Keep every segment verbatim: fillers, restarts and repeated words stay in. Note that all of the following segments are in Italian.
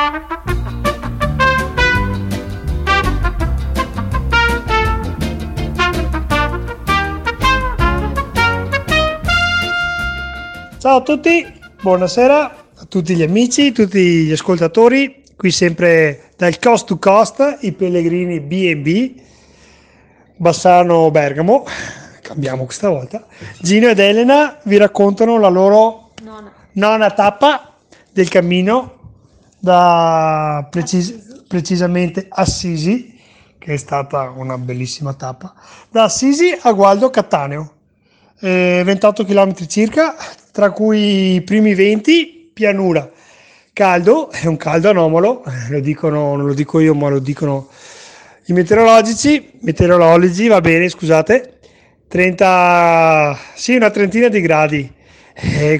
Ciao a tutti, buonasera a tutti gli amici, tutti gli ascoltatori, qui sempre dal Coast to Coast, i pellegrini B and B, Bassano Bergamo, cambiamo questa volta. Gino ed Elena vi raccontano la loro nona, nona tappa del cammino da precis- precisamente Assisi, che è stata una bellissima tappa, da Assisi a Gualdo Cattaneo. Eh, ventotto chilometri circa, tra cui i primi venti pianura, caldo, è un caldo anomalo, lo dicono, non lo dico io ma lo dicono i meteorologici, meteorologi, va bene, scusate, trenta, sì, una trentina di gradi, eh,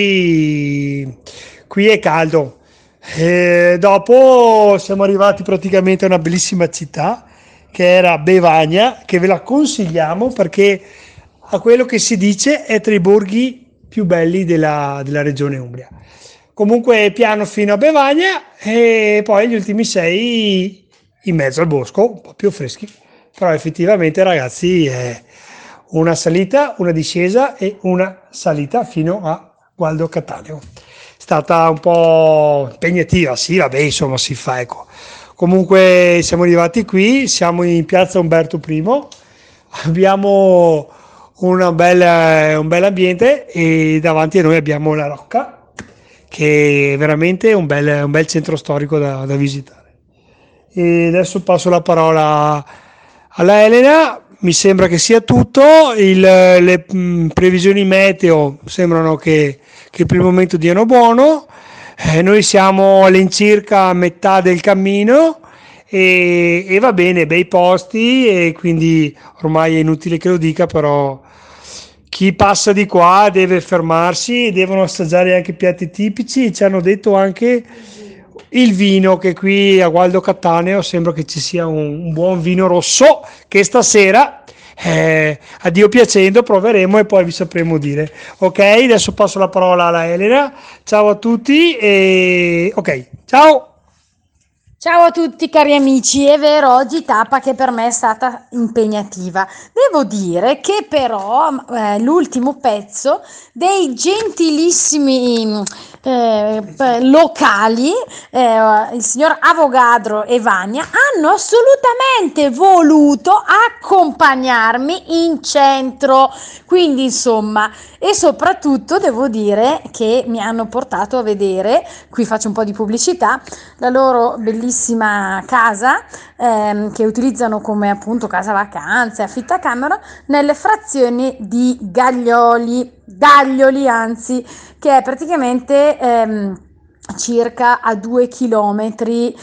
qui, qui è caldo. Eh, dopo siamo arrivati praticamente a una bellissima città che era Bevagna, che ve la consigliamo perché a quello che si dice è tra i borghi più belli della, della regione Umbria. Comunque piano fino a Bevagna e poi gli ultimi sei in mezzo al bosco, un po' più freschi, però effettivamente ragazzi è una salita, una discesa e una salita fino a Gualdo Cattaneo. È stata un po' impegnativa, sì, vabbè, insomma si fa, ecco. Comunque siamo arrivati qui, siamo in piazza Umberto I, abbiamo una bella, un bel ambiente e davanti a noi abbiamo la Rocca, che è veramente un bel, un bel centro storico da, da visitare. E adesso passo la parola alla Elena, mi sembra che sia tutto, il, le mh, previsioni meteo sembrano che, che per il momento diano buono, eh, noi siamo all'incirca a metà del cammino e, e va bene, bei posti e quindi ormai è inutile che lo dica, però chi passa di qua deve fermarsi, devono assaggiare anche piatti tipici, ci hanno detto anche il vino, che qui a Gualdo Cattaneo sembra che ci sia un, un buon vino rosso che stasera eh, a Dio piacendo proveremo e poi vi sapremo dire. Ok, adesso passo la parola alla Elena, ciao a tutti e ok, ciao. Ciao a tutti cari amici, è vero, oggi tappa che per me è stata impegnativa. Devo dire che però eh, l'ultimo pezzo dei gentilissimi eh, locali, eh, il signor Avogadro e Vania, hanno assolutamente voluto accompagnarmi in centro, quindi insomma, e soprattutto devo dire che mi hanno portato a vedere, qui faccio un po' di pubblicità, la loro bellissima casa ehm, che utilizzano come appunto casa vacanze, affittacamera nelle frazioni di Gaglioli, Gaglioli anzi, che è praticamente ehm, circa a due chilometri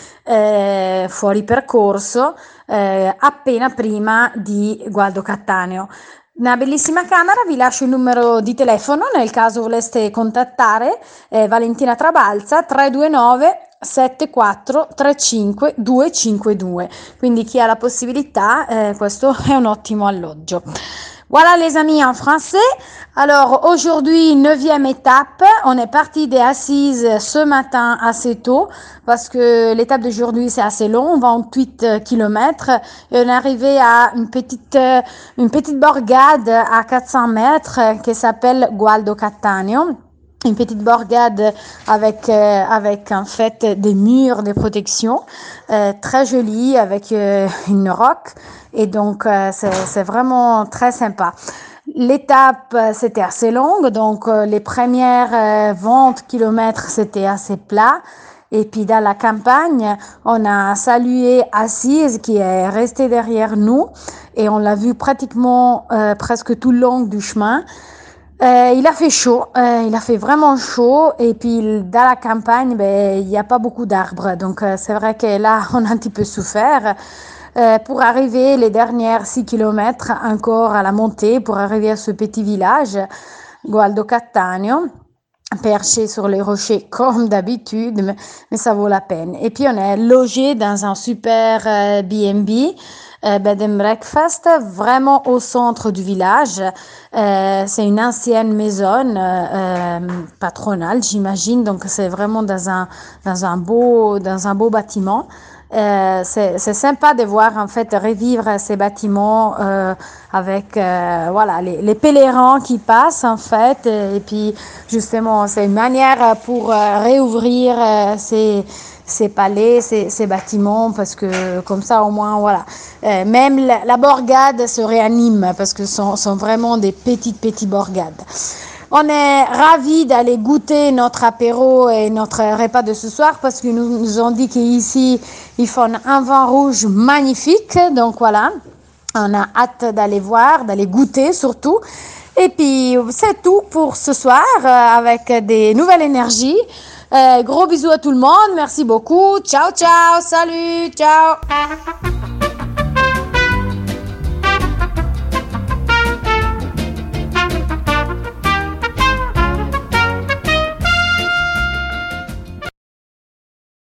eh, fuori percorso, eh, appena prima di Gualdo Cattaneo. Una bellissima camera, vi lascio il numero di telefono nel caso voleste contattare eh, Valentina Trabalza tre due nove sette quattro tre cinque due cinque due, quindi chi ha la possibilità eh, questo è un ottimo alloggio. Voilà les amis en français. Alors aujourd'hui, neuvième étape, on est parti des Assises ce matin assez tôt parce que l'étape d'aujourd'hui c'est assez long, vingt-huit kilomètres et on est arrivé à une petite, une petite borgade à quatre cents mètres qui s'appelle Gualdo Cattaneo. Une petite borgade avec euh, avec en fait des murs de protection euh, très jolis avec euh, une roque et donc euh, c'est c'est vraiment très sympa. L'étape c'était assez longue, donc euh, les premières euh, vingt kilomètres c'était assez plat. Et puis dans la campagne, on a salué Assise qui est restée derrière nous et on l'a vu pratiquement euh, presque tout le long du chemin. Euh, il a fait chaud, euh, il a fait vraiment chaud et puis dans la campagne, ben, il n'y a pas beaucoup d'arbres. Donc euh, c'est vrai que là, on a un petit peu souffert. Euh, pour arriver les dernières six kilomètres encore à la montée, pour arriver à ce petit village, Gualdo Cattaneo, perché sur les rochers comme d'habitude, mais, mais ça vaut la peine. Et puis on est logé dans un super euh, B and B euh, Bed and Breakfast, vraiment au centre du village. Euh, c'est une ancienne maison euh, euh, patronale, j'imagine, donc c'est vraiment dans un, dans un beau, dans un beau bâtiment. Euh, c'est, c'est sympa de voir en fait revivre ces bâtiments euh, avec euh, voilà les, les pèlerins qui passent en fait et, et puis justement c'est une manière pour euh, réouvrir euh, ces ces palais, ces, ces bâtiments parce que comme ça au moins voilà euh, même la, la bourgade se réanime parce que ce sont, sont vraiment des petites petites bourgades. On est ravis d'aller goûter notre apéro et notre repas de ce soir parce qu'ils nous, nous ont dit qu'ici, ils font un vin rouge magnifique. Donc voilà, on a hâte d'aller voir, d'aller goûter surtout. Et puis, c'est tout pour ce soir euh, avec des nouvelles énergies. Euh, gros bisous à tout le monde. Merci beaucoup. Ciao, ciao. Salut. Ciao.